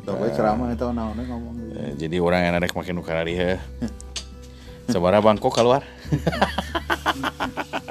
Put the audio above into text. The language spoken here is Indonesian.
Tong we ceramah eta naonnya ngomong. Jadi orang yang rek make nu kararieu. Sabaraha bangkok keluar.